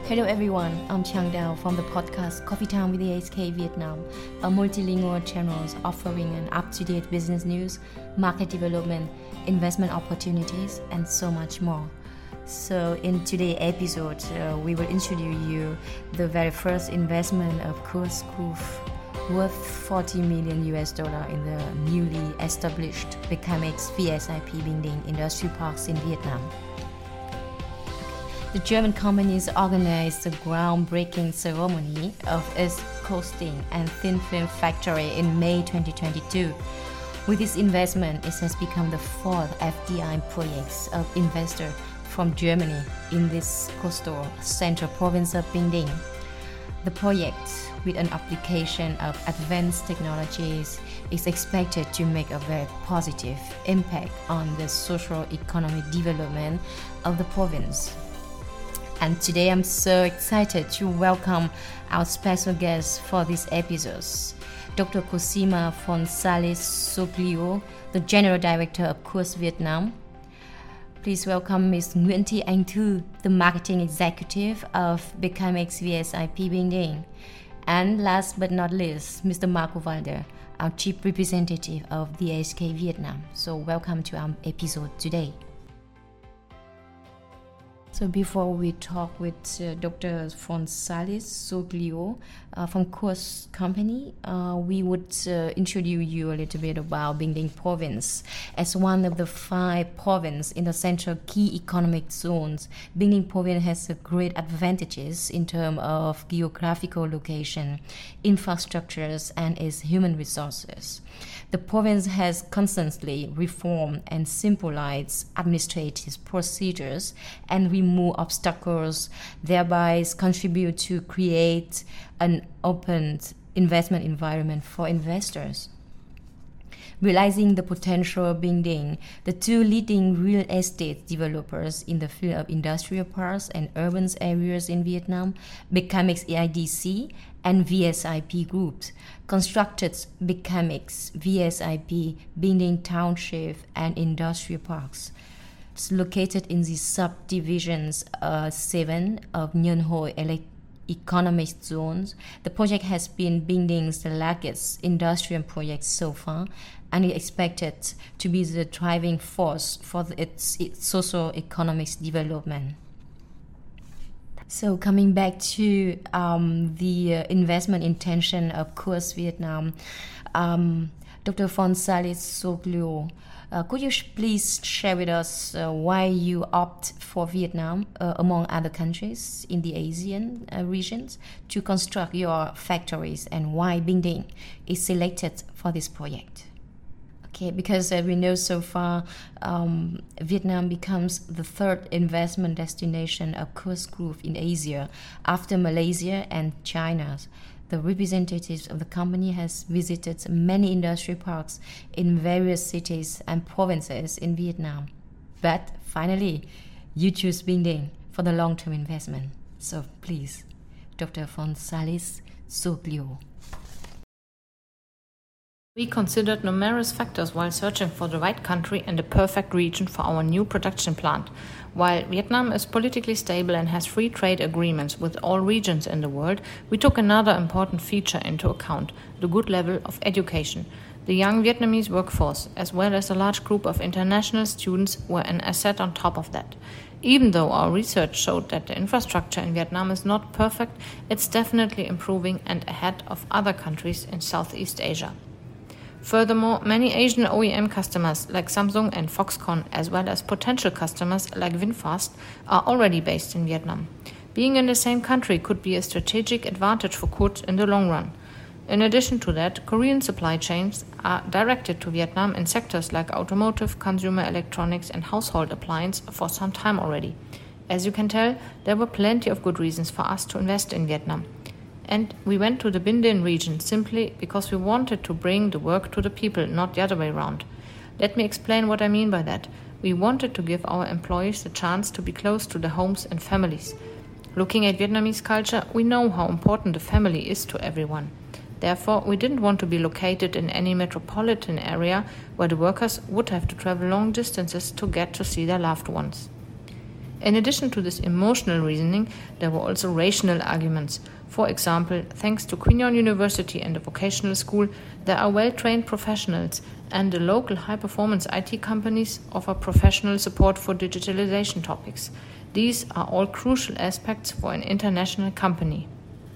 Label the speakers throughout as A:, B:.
A: Hello everyone, I'm Chang Dao from the podcast Coffee Time with the ASK Vietnam, a multilingual channel offering an up-to-date business news, market development, investment opportunities, and so much more. So in today's episode, we will introduce you the very first investment of Kurs Group worth $40 million in the newly established Becamex VSIP building industry parks in Vietnam. The German companies organized the groundbreaking ceremony of its coating and thin film factory in May 2022. With this investment, it has become the fourth FDI project of investors from Germany in this coastal central province of Bình Định. The project, with an application of advanced technologies, is expected to make a very positive impact on the socio-economic development of the province. And today I'm so excited to welcome our special guest for this episode, Dr. Cosima Fonsales Soglio, the General Director of Kurs Vietnam. Please welcome Ms. Nguyễn Thị Anh Thư, the Marketing Executive of Becamex VSIP Bình Định. And last but not least, Mr. Marco Valder, our Chief Representative of the ASK Vietnam. So welcome to our episode today. So before we talk with Dr. Fonsales Soglio from Kurs Company, we would introduce you a little bit about Bình Định province. As one of the 5 provinces in the central key economic zones, Bình Định province has great advantages in terms of geographical location, infrastructures, and its human resources. The province has constantly reformed and simplified administrative procedures and remove obstacles, thereby contribute to create an open investment environment for investors. Realizing the potential of Bình Định, the 2 leading real estate developers in the field of industrial parks and urban areas in Vietnam, Becamex EIDC and VSIP Groups, constructed Becamex VSIP Bình Định Township and Industrial Parks. It's located in the subdivisions 7 of Nhân Hội Economic Zones. The project has been Bình Định largest industrial project so far, and is expected to be the driving force for its socio-economic development. So coming back to the investment intention of Kurs Vietnam, Dr. Fonsales Soglio, could you please share with us why you opt for Vietnam among other countries in the Asian regions to construct your factories, and why Bình Định is selected for this project? Okay, because we know so far, Vietnam becomes the 3rd investment destination of Kurs Group in Asia after Malaysia and China. The representatives of the company has visited many industrial parks in various cities and provinces in Vietnam. But finally, you choose Bình Định for the long-term investment. So please, Dr. Fonsales Soglio.
B: We considered numerous factors while searching for the right country and the perfect region for our new production plant. While Vietnam is politically stable and has free trade agreements with all regions in the world, we took another important feature into account: the good level of education. The young Vietnamese workforce, as well as a large group of international students, were an asset on top of that. Even though our research showed that the infrastructure in Vietnam is not perfect, it's definitely improving and ahead of other countries in Southeast Asia. Furthermore, many Asian OEM customers like Samsung and Foxconn, as well as potential customers like VinFast, are already based in Vietnam. Being in the same country could be a strategic advantage for Kurs in the long run. In addition to that, Korean supply chains are directed to Vietnam in sectors like automotive, consumer electronics, and household appliance for some time already. As you can tell, there were plenty of good reasons for us to invest in Vietnam. And we went to the Bình Định region simply because we wanted to bring the work to the people, not the other way around. Let me explain what I mean by that. We wanted to give our employees the chance to be close to their homes and families. Looking at Vietnamese culture, we know how important the family is to everyone. Therefore, we didn't want to be located in any metropolitan area where the workers would have to travel long distances to get to see their loved ones. In addition to this emotional reasoning, there were also rational arguments. For example, thanks to Queen Yon University and a vocational school, there are well-trained professionals, and the local high-performance IT companies offer professional support for digitalization topics. These are all crucial aspects for an international company.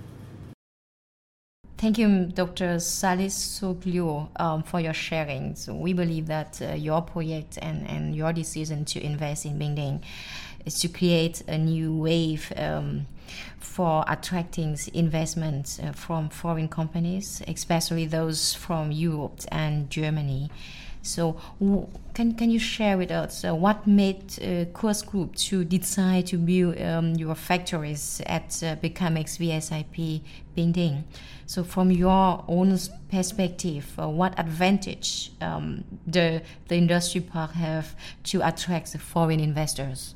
A: Thank you, Dr. Salis-Soglio, for your sharing. So we believe that your project and your decision to invest in Bingding is to create a new wave for attracting investments from foreign companies, especially those from Europe and Germany. So can you share with us what made Kurs Group to decide to build your factories at Becamex VSIP Bingding? So from your own perspective, what advantage the industry park have to attract the foreign investors?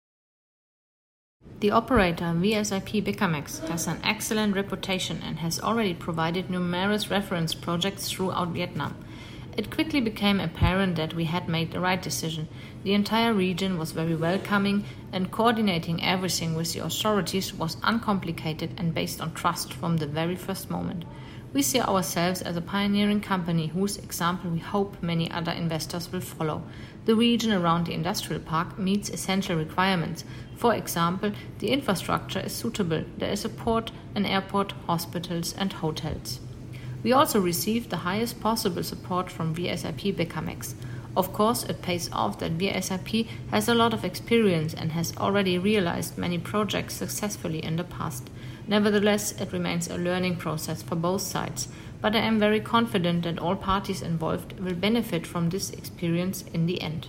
B: The operator VSIP Becamex has an excellent reputation and has already provided numerous reference projects throughout Vietnam. It quickly became apparent that we had made the right decision. The entire region was very welcoming, and coordinating everything with the authorities was uncomplicated and based on trust from the very first moment. We see ourselves as a pioneering company whose example we hope many other investors will follow. The region around the industrial park meets essential requirements. For example, the infrastructure is suitable. There is a port, an airport, hospitals and hotels. We also received the highest possible support from VSIP Becamex. Of course, it pays off that VSIP has a lot of experience and has already realized many projects successfully in the past. Nevertheless, it remains a learning process for both sides, but I am very confident that all parties involved will benefit from this experience in the end.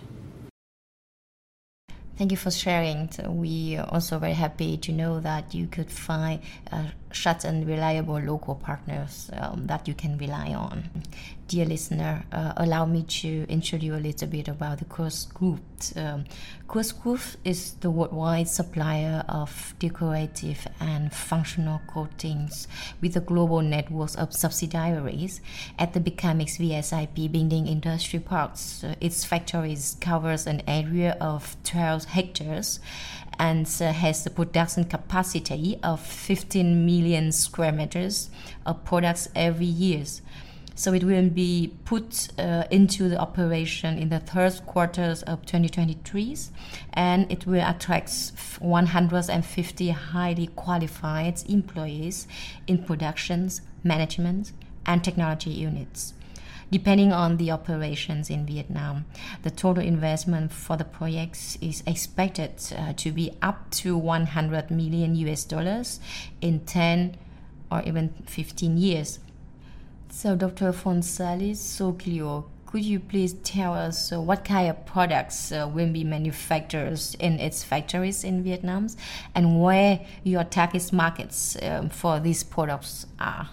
A: Thank you for sharing. We are also very happy to know that you could find such and reliable local partners that you can rely on. Dear listener, allow me to introduce you a little bit about the Kurs Group. Kurs Group is the worldwide supplier of decorative and functional coatings with a global network of subsidiaries at the Becamex VSIP Bingding Industry Parks. Its factories covers an area of 12 hectares and has the production capacity of 15 million square meters of products every year. So it will be put into the operation in the third quarter of 2023, and it will attract 150 highly qualified employees in productions, management, and technology units. Depending on the operations in Vietnam, the total investment for the projects is expected to be up to $100 million in 10 or even 15 years. So, Dr. von Salis-Soglio, could you please tell us what kind of products will be manufactured in its factories in Vietnam and where your target markets for these products are?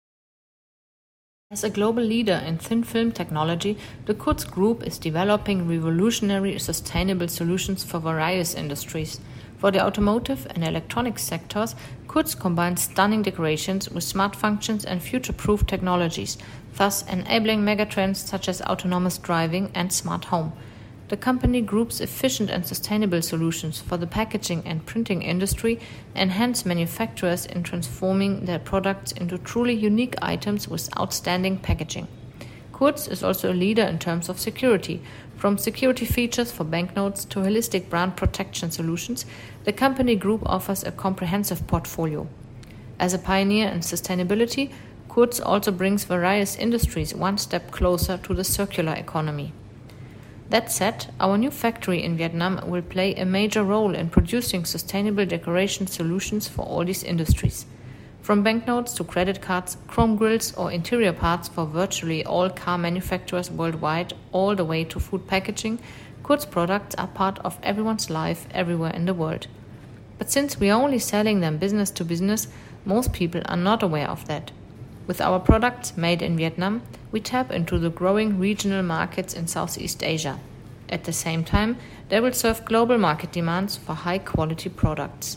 B: As a global leader in thin film technology, the Kurs Group is developing revolutionary sustainable solutions for various industries. For the automotive and electronics sectors, Kurs combines stunning decorations with smart functions and future-proof technologies, thus enabling megatrends such as autonomous driving and smart home. The company groups efficient and sustainable solutions for the packaging and printing industry enhance manufacturers in transforming their products into truly unique items with outstanding packaging. Kurs is also a leader in terms of security. From security features for banknotes to holistic brand protection solutions, the company group offers a comprehensive portfolio. As a pioneer in sustainability, Kurs also brings various industries one step closer to the circular economy. That said, our new factory in Vietnam will play a major role in producing sustainable decoration solutions for all these industries. From banknotes to credit cards, chrome grills or interior parts for virtually all car manufacturers worldwide, all the way to food packaging, Kurs products are part of everyone's life everywhere in the world. But since we are only selling them business to business, most people are not aware of that. With our products made in Vietnam, we tap into the growing regional markets in Southeast Asia. At the same time, they will serve global market demands for high-quality products.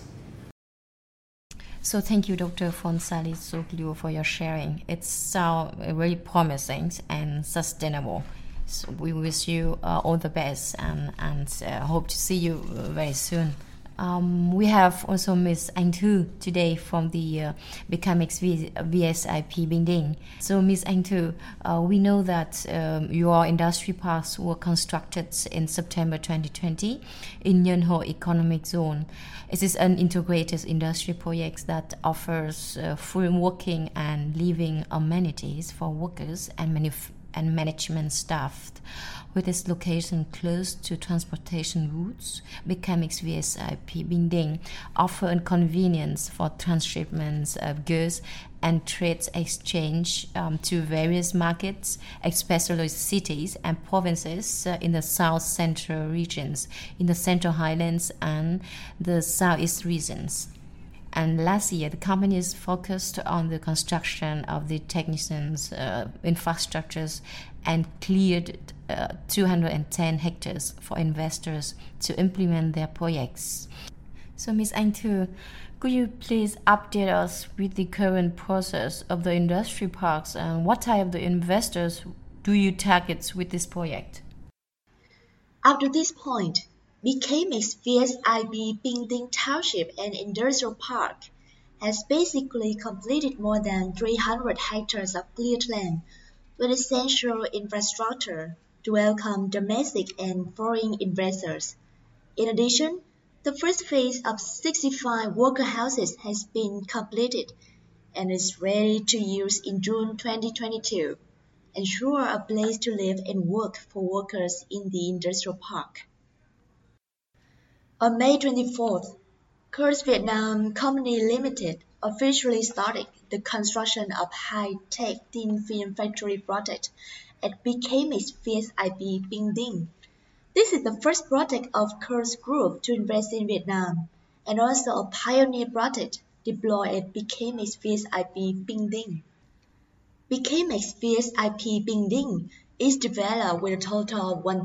A: So thank you, Dr. von Salis-Soglio, for your sharing. It's very promising and sustainable. So we wish you all the best and hope to see you very soon. We have also Ms. Anh Thư today from the Becamex VSIP building. So Ms. Anh Thư, we know that your industry parks were constructed in September 2020 in Nhân Hồ Economic Zone. It is an integrated industry project that offers full working and living amenities for workers and management staff. With its location close to transportation routes, Becamex VSIP building offers convenience for transshipments of goods and trade exchange to various markets, especially cities and provinces in the South Central regions, in the Central Highlands and the Southeast regions. And last year, the company is focused on the construction of the technicians' infrastructures and cleared 210 hectares for investors to implement their projects. So, Ms. Anh Thư, could you please update us with the current process of the industry parks and what type of investors do you target with this project?
C: Up to this point, Becamex VSIP Binh Township and Industrial Park has basically completed more than 300 hectares of cleared land with essential infrastructure to welcome domestic and foreign investors. In addition, the first phase of 65 worker houses has been completed and is ready to use in June 2022, ensure a place to live and work for workers in the industrial park. On May 24th, Kurs Vietnam Company Limited officially started the construction of high-tech thin film factory project at Becamex VSIP Binh Dinh. This is the first project of Kurs Group to invest in Vietnam and also a pioneer project deployed at Becamex VSIP Binh Dinh. Becamex VSIP Binh Dinh is developed with a total of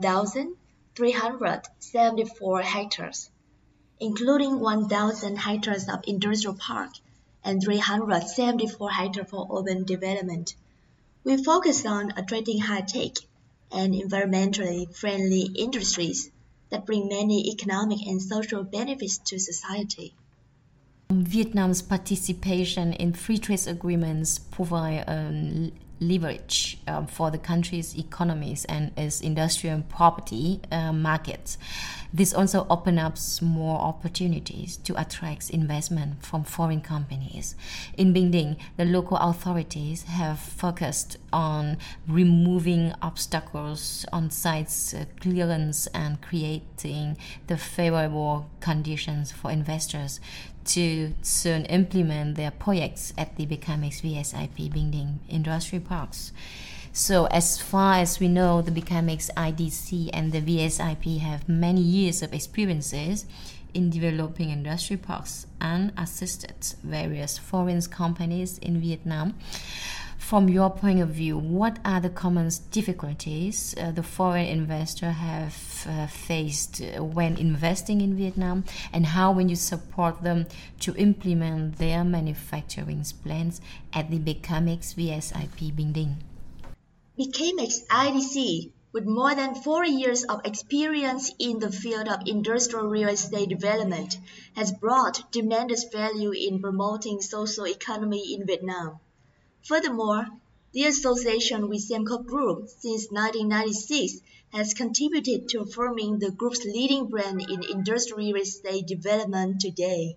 C: 1,374 hectares, including 1,000 hectares of industrial park and 374 hectares for urban development. We focus on attracting high-tech and environmentally friendly industries that bring many economic and social benefits to society.
A: Vietnam's participation in free trade agreements provide leverage for the country's economies and its industrial property markets. This also opens up more opportunities to attract investment from foreign companies. In Binh Dinh, the local authorities have focused on removing obstacles on sites clearance and creating the favorable conditions for investors to soon implement their projects at the Becamex VSIP Binh Dinh Industry Parks. So as far as we know, the Becamex IDC and the VSIP have many years of experiences in developing industry parks and assisted various foreign companies in Vietnam. From your point of view, what are the common difficulties the foreign investors have faced when investing in Vietnam, and how will you support them to implement their manufacturing plans at the Becamex VSIP Binh Dinh?
C: Becamex IDC, with more than 40 years of experience in the field of industrial real estate development, has brought tremendous value in promoting social economy in Vietnam. Furthermore, the association with Semco Group since 1996 has contributed to forming the group's leading brand in industrial real estate development today.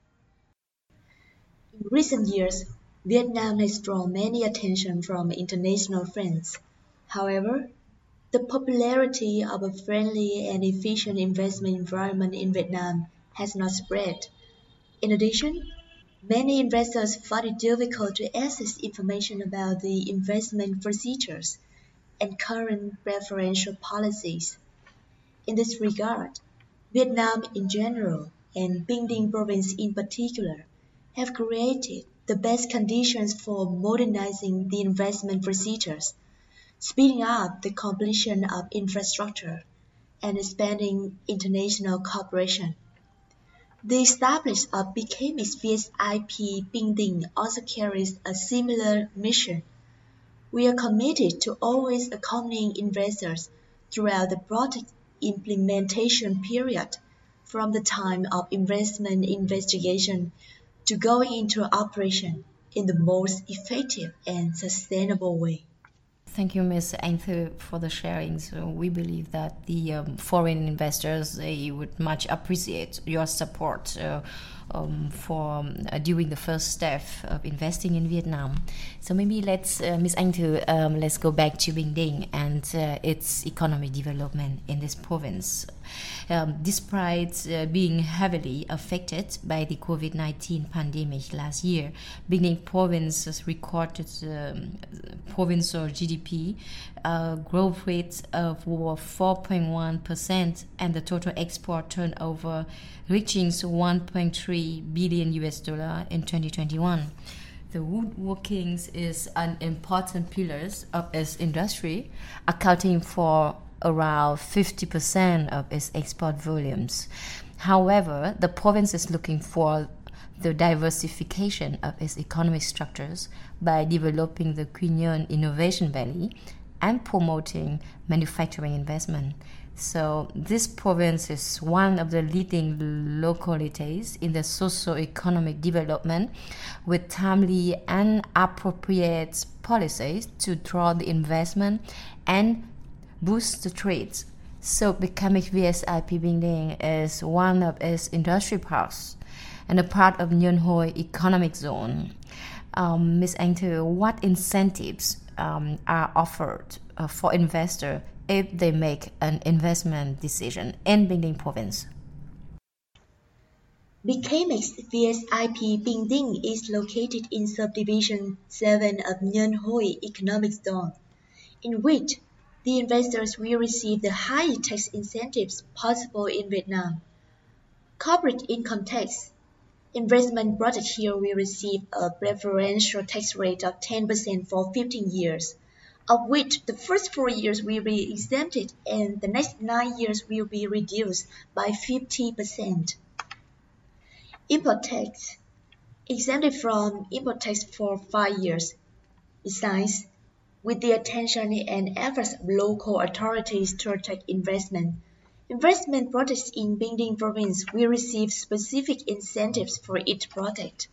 C: In recent years, Vietnam has drawn many attention from international friends. However, the popularity of a friendly and efficient investment environment in Vietnam has not spread. In addition, many investors find it difficult to access information about the investment procedures and current preferential policies. In this regard, Vietnam in general and Binh Dinh province in particular have created the best conditions for modernizing the investment procedures, speeding up the completion of infrastructure, and expanding international cooperation. The establishment of Becamex VSIP Binh Dinh also carries a similar mission. We are committed to always accompanying investors throughout the project implementation period, from the time of investment investigation to going into operation in the most effective and sustainable way.
A: Thank you, Ms. Anthe, for the sharing. So we believe that the foreign investors, they would much appreciate your support for during the first step of investing in Vietnam. So maybe let's, Ms. Anthe, let's go back to Bình Định and its economic development in this province. Despite being heavily affected by the COVID-19 pandemic last year, Bình Định province has recorded provincial GDP growth rate of over 4.1% and the total export turnover reaching $1.3 billion in 2021. The woodworkings is an important pillar of its industry, accounting for around 50% of its export volumes. However, the province is looking for the diversification of its economic structures by developing the Quy Nhơn Innovation Valley and promoting manufacturing investment. So this province is one of the leading localities in the socio-economic development with timely and appropriate policies to draw the investment and boost the trade. So Becamic VSIP Bình Định is one of its industry parks and a part of Nhơn Hoi economic zone. Ms. Anthe, what incentives are offered for investors if they make an investment decision in Bình Định province?
C: Becamic VSIP Bình Định is located in subdivision 7 of Nhơn Hoi economic zone, in which the investors will receive the highest tax incentives possible in Vietnam. Corporate income tax. Investment projects here will receive a preferential tax rate of 10% for 15 years, of which the first 4 years will be exempted and the next 9 years will be reduced by 50%. Import tax. Exempted from import tax for 5 years. Besides, with the attention and efforts of local authorities to attract investment projects in Bình Định province will receive specific incentives for each project.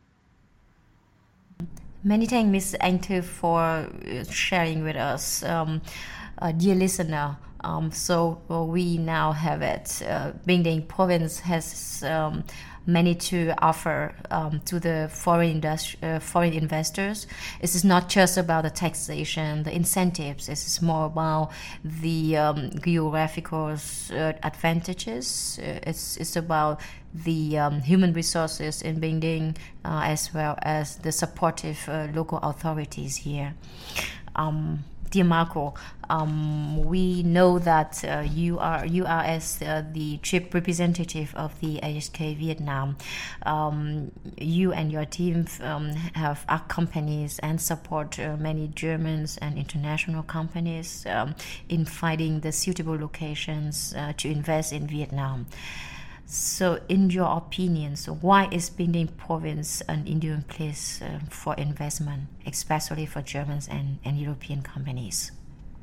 A: Many thanks, Ms. Anthe, for sharing with us. Dear listener, so we now have it. Bình Định province has many to offer to the foreign investors. It is not just about the taxation, the incentives. It is more about the geographical advantages. It's about the human resources in Bình Định as well as the supportive local authorities here. Dear Marco, we know that you are as the chief representative of the AHK Vietnam. You and your team have accompanied and support many Germans and international companies in finding the suitable locations to invest in Vietnam. So, in your opinion, why is Bình Định province an ideal place for investment, especially for Germans and European companies?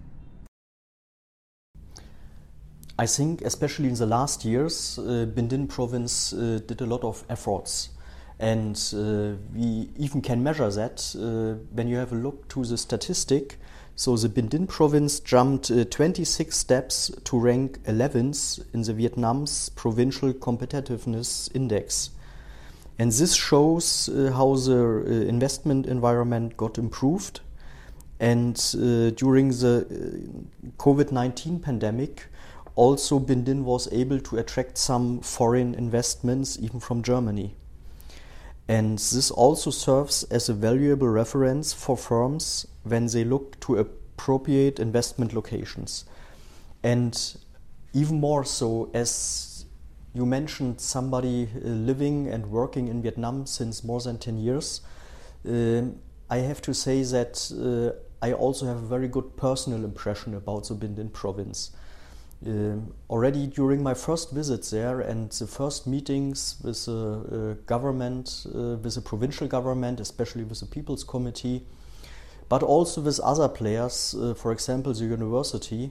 D: I think, especially in the last years, Bình Định province did a lot of efforts, and we even can measure that when you have a look to the statistic. So the Bình Định province jumped 26 steps to rank 11th in the Vietnam's provincial competitiveness index. And this shows how the investment environment got improved. And during the COVID-19 pandemic, also Bình Định was able to attract some foreign investments, even from Germany. And this also serves as a valuable reference for firms when they look to appropriate investment locations. And even more so, as you mentioned, somebody living and working in Vietnam since more than 10 years, I have to say that I also have a very good personal impression about the Bình Định province. Already during my first visit there and the first meetings with the government, with the provincial government, especially with the People's Committee, but also with other players, for example the university,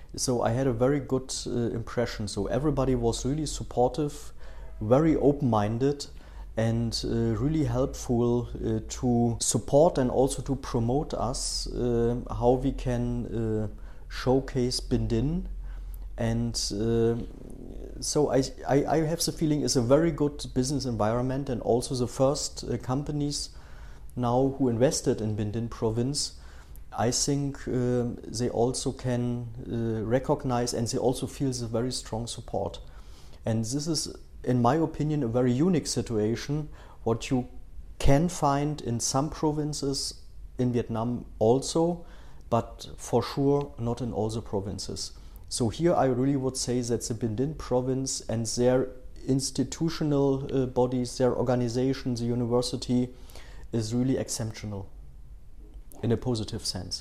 D: So I had a very good impression. So everybody was really supportive, very open-minded, and really helpful to support and also to promote us how we can showcase Bindin. And so I have the feeling it's a very good business environment, and also the first companies now who invested in Bindin province, I think they also can recognize, and they also feel the very strong support. And this is, in my opinion, a very unique situation, what you can find in some provinces in Vietnam also, but for sure not in all the provinces. So here I really would say that the Bindin province and their institutional bodies, their organization, the university, is really exceptional in a positive sense.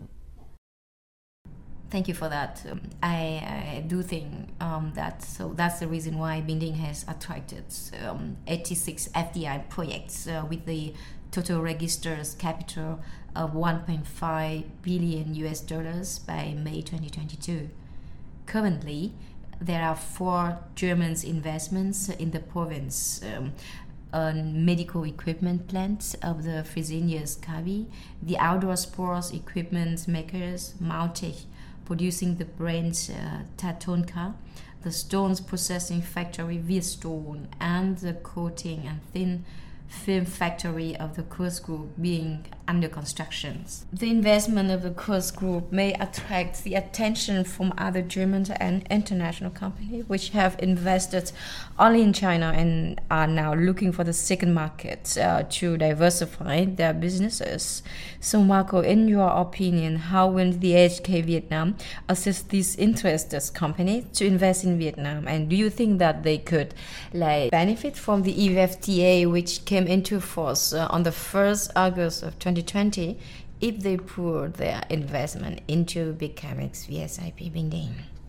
A: Thank you for that. I do think that's the reason why Bindin has attracted 86 FDI projects with the total registered capital of $1.5 billion by May 2022. Currently, there are 4 German investments in the province. A medical equipment plant of the Fresenius Kabi, the outdoor sports equipment makers Mautech, producing the brand Tatonka, the stones processing factory Virstone, and the coating and thin film factory of the Kurs Group being under construction. The investment of the Kurs Group may attract the attention from other German and international companies which have invested only in China and are now looking for the second market to diversify their businesses. So Marco, in your opinion, how will the AHK Vietnam assist these interested companies to invest in Vietnam? And do you think that they could benefit from the EVFTA which came into force on the 1st August of 2020 if they put their investment into Bicamex VSIP Bindin?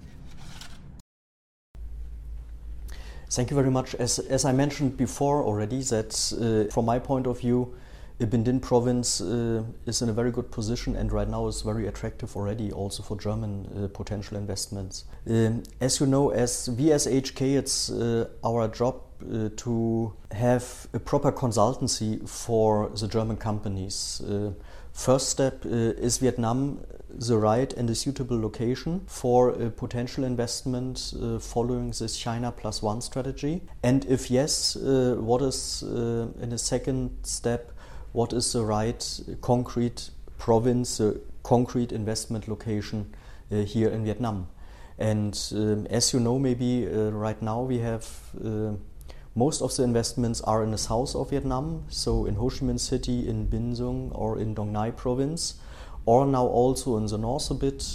D: Thank you very much. As I mentioned before already, that from my point of view, Bindin province is in a very good position, and right now is very attractive already also for German potential investments. As you know, as VSHK, it's our job to have a proper consultancy for the German companies. First step, is Vietnam the right and a suitable location for a potential investment following this China Plus One strategy? And if yes, what is, in a second step, what is the right concrete province, concrete investment location here in Vietnam? And as you know, maybe right now we have most of the investments are in the south of Vietnam, so in Ho Chi Minh City, in Binh Dung, or in Dong Nai province, or now also in the north a bit,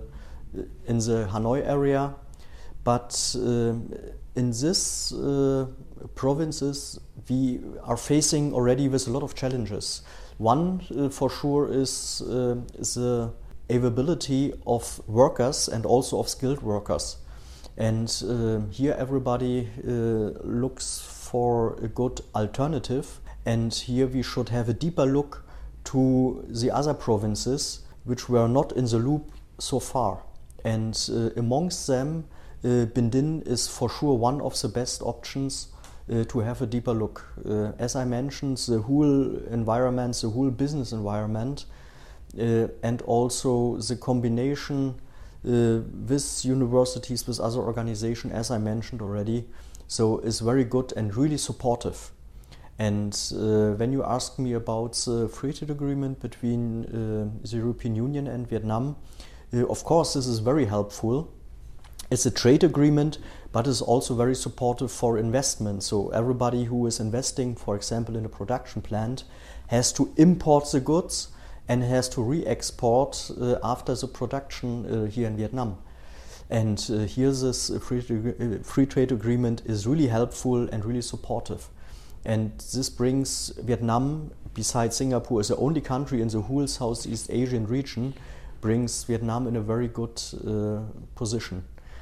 D: in the Hanoi area. But in these provinces, we are facing already with a lot of challenges. One, for sure, is the availability of workers and also of skilled workers. And here everybody looks for a good alternative. And here we should have a deeper look to the other provinces which were not in the loop so far. And amongst them, Bindin is for sure one of the best options to have a deeper look. As I mentioned, the whole environment, the whole business environment, and also the combination with universities, with other organizations, as I mentioned already, so is very good and really supportive. And when you ask me about the free trade agreement between the European Union and Vietnam, of course this is very helpful. It's a trade agreement, but it's also very supportive for investment. So everybody who is investing, for example, in a production plant, has to import the goods and has to re-export after the production here in Vietnam. And here this free trade agreement is really helpful and really supportive. And this brings Vietnam, besides Singapore, as the only country in the whole Southeast Asian region, brings Vietnam in a very good position.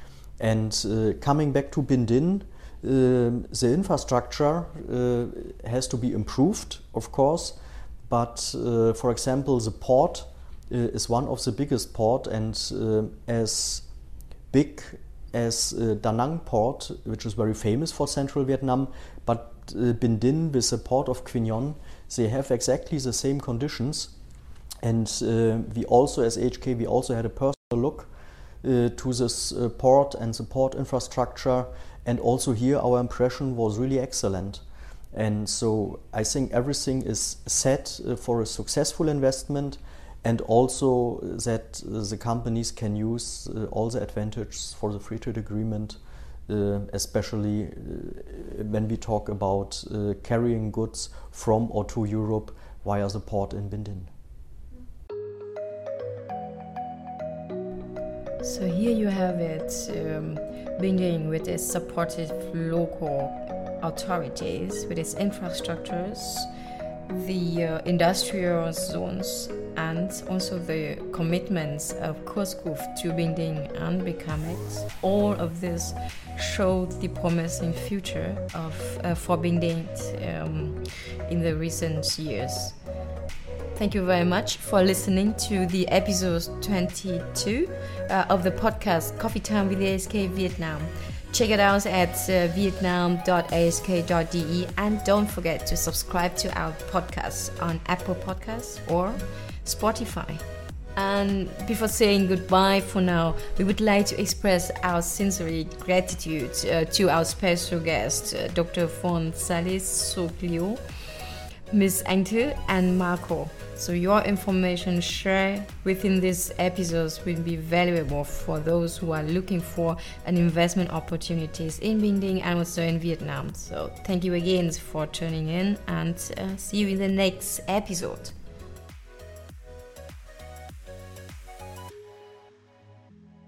D: And coming back to Bindin, the infrastructure has to be improved, of course, but for example, the port is one of the biggest port, and as big as Da Nang port, which is very famous for central Vietnam, but Binh Dinh with the port of Quy Nhon, they have exactly the same conditions. And we also, as AHK, we also had a personal look to this port and the port infrastructure, and also here our impression was really excellent. And so I think everything is set for a successful investment, and also that the companies can use all the advantages for the free trade agreement, especially when we talk about carrying goods from or to Europe via the port in Binh Dinh.
A: So here you have it, Binh Dinh with its supportive local authorities, with its infrastructures, the industrial zones, and also the commitments of Kursgruv to Binh Dinh and Bekamet. All of this showed the promising future for Binh Dinh in the recent years. Thank you very much for listening to the episode 22 of the podcast Coffee Time with ASK Vietnam. Check it out at vietnam.ask.de, and don't forget to subscribe to our podcast on Apple Podcasts or Spotify. And before saying goodbye for now, we would like to express our sincere gratitude to our special guests, Dr. von Salis Soglio, Ms. Engte, and Marco. So your information shared within these episodes will be valuable for those who are looking for an investment opportunities in Binh Dinh and also in Vietnam. So thank you again for tuning in, and see you in the next episode.